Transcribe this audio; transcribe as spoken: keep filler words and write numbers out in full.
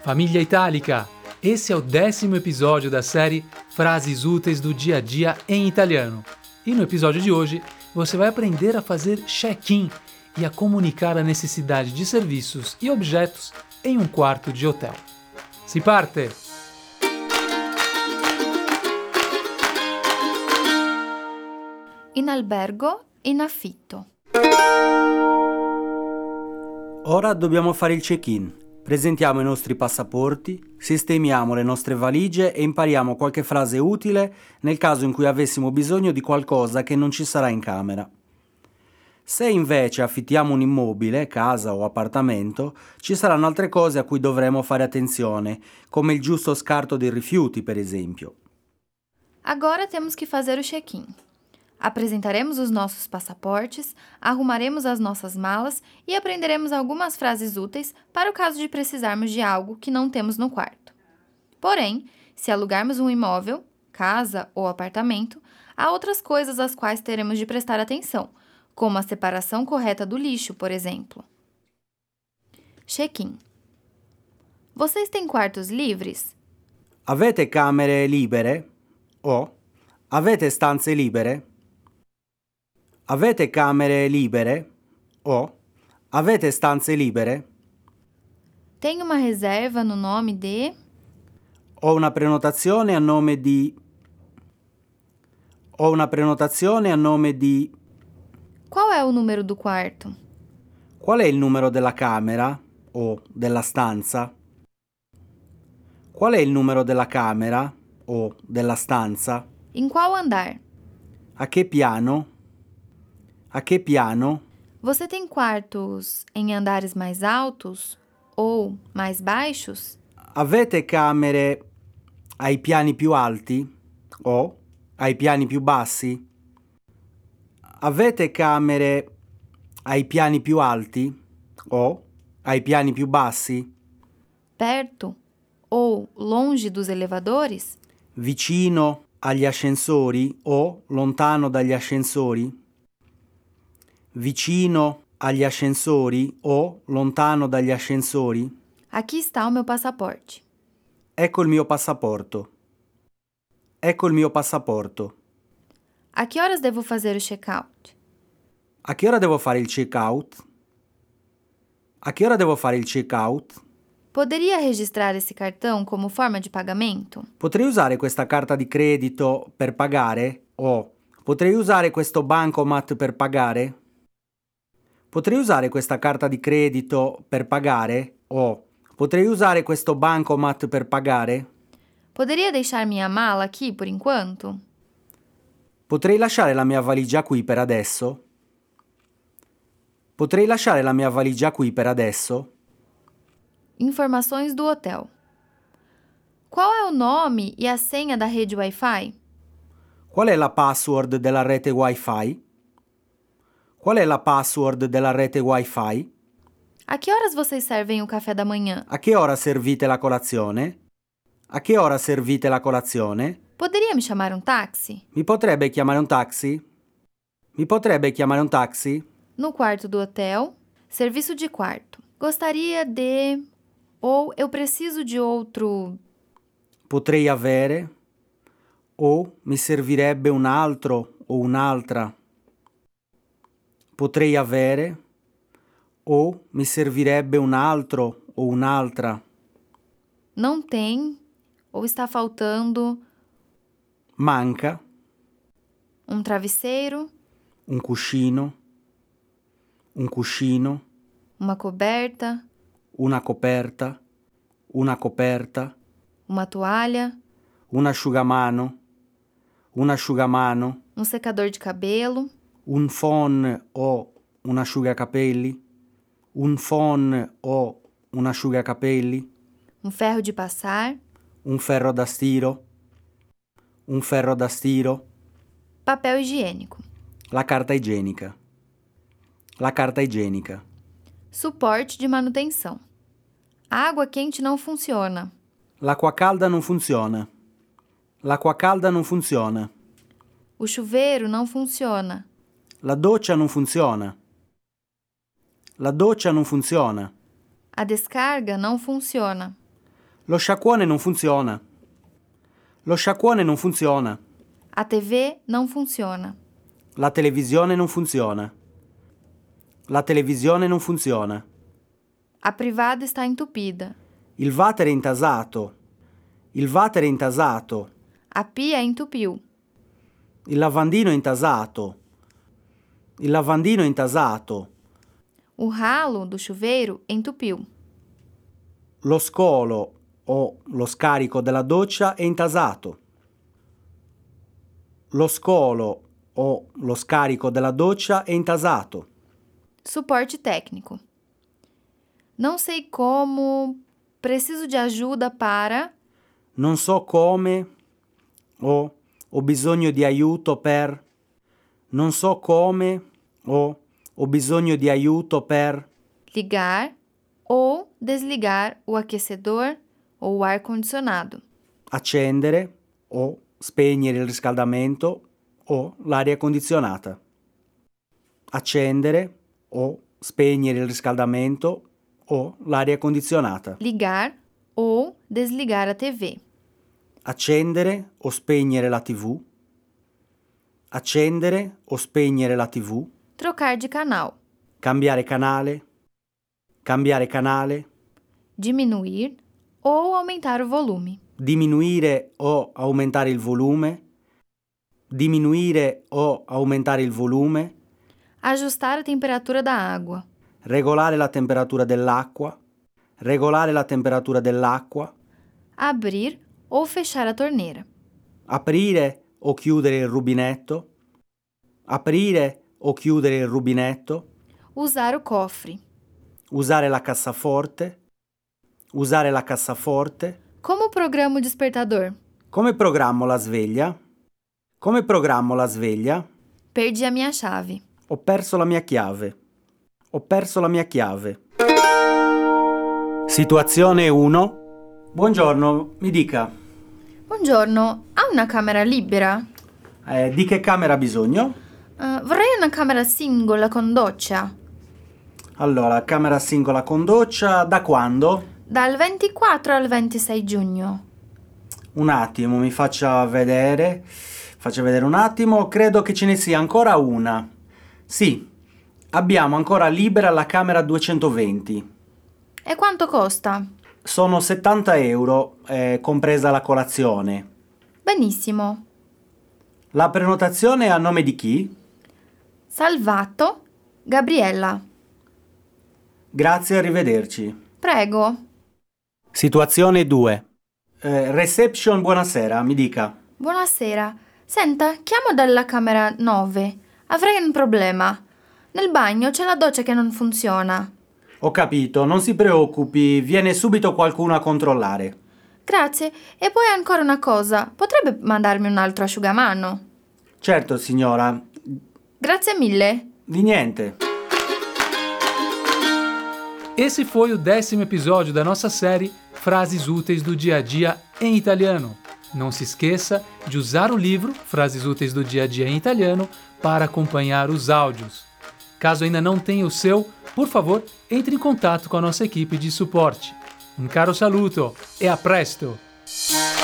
Família Itálica! Esse é o décimo episódio da série Frases Úteis do Dia a Dia em Italiano. E no episódio de hoje, você vai aprender a fazer check-in e a comunicar a necessidade de serviços e objetos em um quarto de hotel. Si parte! In albergo, in affitto. Ora dobbiamo fare il check-in. Presentiamo i nostri passaporti, sistemiamo le nostre valigie e impariamo qualche frase utile nel caso in cui avessimo bisogno di qualcosa che non ci sarà in camera. Se invece affittiamo un immobile, casa o appartamento, ci saranno altre cose a cui dovremo fare attenzione, come il giusto scarto dei rifiuti, per esempio. Agora temos que fazer o check-in. Apresentaremos os nossos passaportes, arrumaremos as nossas malas e aprenderemos algumas frases úteis para o caso de precisarmos de algo que não temos no quarto. Porém, se alugarmos um imóvel, casa ou apartamento, há outras coisas às quais teremos de prestar atenção, como a separação correta do lixo, por exemplo. Check-in. Vocês têm quartos livres? Avete camere libere? O avete stanze libere? Avete camere libere? O avete stanze libere? Tem uma reserva no nome de... Ho una prenotazione a nome di... Ho una prenotazione a nome di... Qual é o número do quarto? Qual è il numero della camera o della stanza? Qual è il numero della camera o della stanza? Em qual andar? A che piano? A che piano? Você tem quartos em andares mais altos ou mais baixos? Avete camere ai piani più alti o ai piani più bassi? Avete camere ai piani più alti o ai piani più bassi? Perto ou longe dos elevadores? Vicino agli ascensori o lontano dagli ascensori? Vicino agli ascensori o lontano dagli ascensori? Aqui está o meu passaporte. Ecco il mio passaporto. Ecco il mio passaporto. A que horas devo fazer o check-out? A che ora devo fare il check-out? A che ora devo fare il check-out? Poderia registrar esse cartão como forma de pagamento? Potrei usare questa carta di credito per pagare? O potrei usare questo bancomat per pagare? Potrei usare questa carta di credito per pagare? O potrei usare questo bancomat per pagare? Poderia deixar minha mala aqui por enquanto? Potrei lasciare la mia valigia qui per adesso? Potrei lasciare la mia valigia qui per adesso? Informações do hotel. Qual é o nome e a senha da rede Wi-Fi? Qual è la password della rete Wi-Fi? Qual è la password della rete Wi-Fi? A que horas vocês servem o café da manhã? A che ora servite la colazione? A che ora servite la colazione? Poderia me chamar um táxi? Mi potrebbe chiamare un taxi? Mi potrebbe chiamare un taxi? No quarto do hotel, serviço de quarto. Gostaria de... Ou eu preciso de outro... Potrei avere? O mi servirebbe un altro o un'altra? Potrei avere? O mi servirebbe un altro o un'altra? Não tem, ou está faltando... Manca Um travesseiro, un cuscino, un cuscino, uma coberta, una coperta, una coperta, uma toalha, un asciugamano, un asciugamano, um secador de cabelo, un phon o un asciugacapelli, un phon o un asciugacapelli, um ferro de passar, un ferro da stiro, un ferro da stiro, papel higiênico, la carta igienica, la carta igienica, suporte de manutenção. A água quente não funciona. l'acqua calda non funziona, l'acqua calda non funziona, O chuveiro não funciona. la doccia non funziona, la doccia non funziona, A descarga não funciona. Lo sciacquone non funziona. Lo sciacquone non funziona. A T V não funciona. La televisione non funziona. La televisione non funziona. A privada está entupida. Il water è intasato. Il water è intasato. A pia entupiu. Il lavandino è intasato. Il lavandino è intasato. O ralo do chuveiro entupiu. Lo scolo o lo scarico della doccia è intasato. Lo scolo o lo scarico della doccia è intasato. Suporte técnico. Não sei como. Preciso de ajuda para. Non so come o ho bisogno di aiuto per. Non so come o ho bisogno di aiuto per. Ligar ou desligar o aquecedor ou o ar-condicionado. Accendere o spegnere il riscaldamento o l'aria condizionata. Accendere o spegnere il riscaldamento o l'aria condizionata. Ligar ou desligar a T V. Accendere o spegnere la tivù. Accendere o spegnere la tivù. Trocar de canal. Cambiare canale. Cambiare canale. Diminuir ou aumentar o volume. Diminuire o aumentare il volume. Diminuire o aumentare il volume. Ajustar a temperatura da água. Regolare la temperatura dell'acqua. Regolare la temperatura dell'acqua. Abrir ou fechar a torneira. Aprire o chiudere il rubinetto. Aprire o chiudere il rubinetto. Usar o cofre. Usare la cassaforte. Usare la cassaforte. Como programa o despertador? Come programmo la sveglia? Come programmo la sveglia? Perdi a minha chave. Ho perso la mia chiave. Ho perso la mia chiave. Situazione uno. Buongiorno, mi dica. Buongiorno, ha una camera libera? Eh, di che camera ha bisogno? Uh, vorrei una camera singola con doccia. Allora, camera singola con doccia, da quando? Dal ventiquattro al ventisei giugno. Un attimo, mi faccia vedere. Faccia vedere un attimo, credo che ce ne sia ancora una. Sì, abbiamo ancora libera la camera duecentoventi. E quanto costa? Sono settanta euro, eh, compresa la colazione. Benissimo. La prenotazione è a nome di chi? Salvato, Gabriella. Grazie, arrivederci. Prego. Situazione due. Eh, reception, buonasera, mi dica. Buonasera. Senta, chiamo dalla camera nove. Avrei un problema. Nel bagno c'è la doccia che non funziona. Ho capito, non si preoccupi, viene subito qualcuno a controllare. Grazie. E poi ancora una cosa. Potrebbe mandarmi un altro asciugamano? Certo, signora. Grazie mille. Di niente. Esse foi o décimo episódio da nossa série Frases Úteis do Dia a Dia em Italiano. Não se esqueça de usar o livro Frases Úteis do Dia a Dia em Italiano para acompanhar os áudios. Caso ainda não tenha o seu, por favor, entre em contato com a nossa equipe de suporte. Um caro saluto e a presto!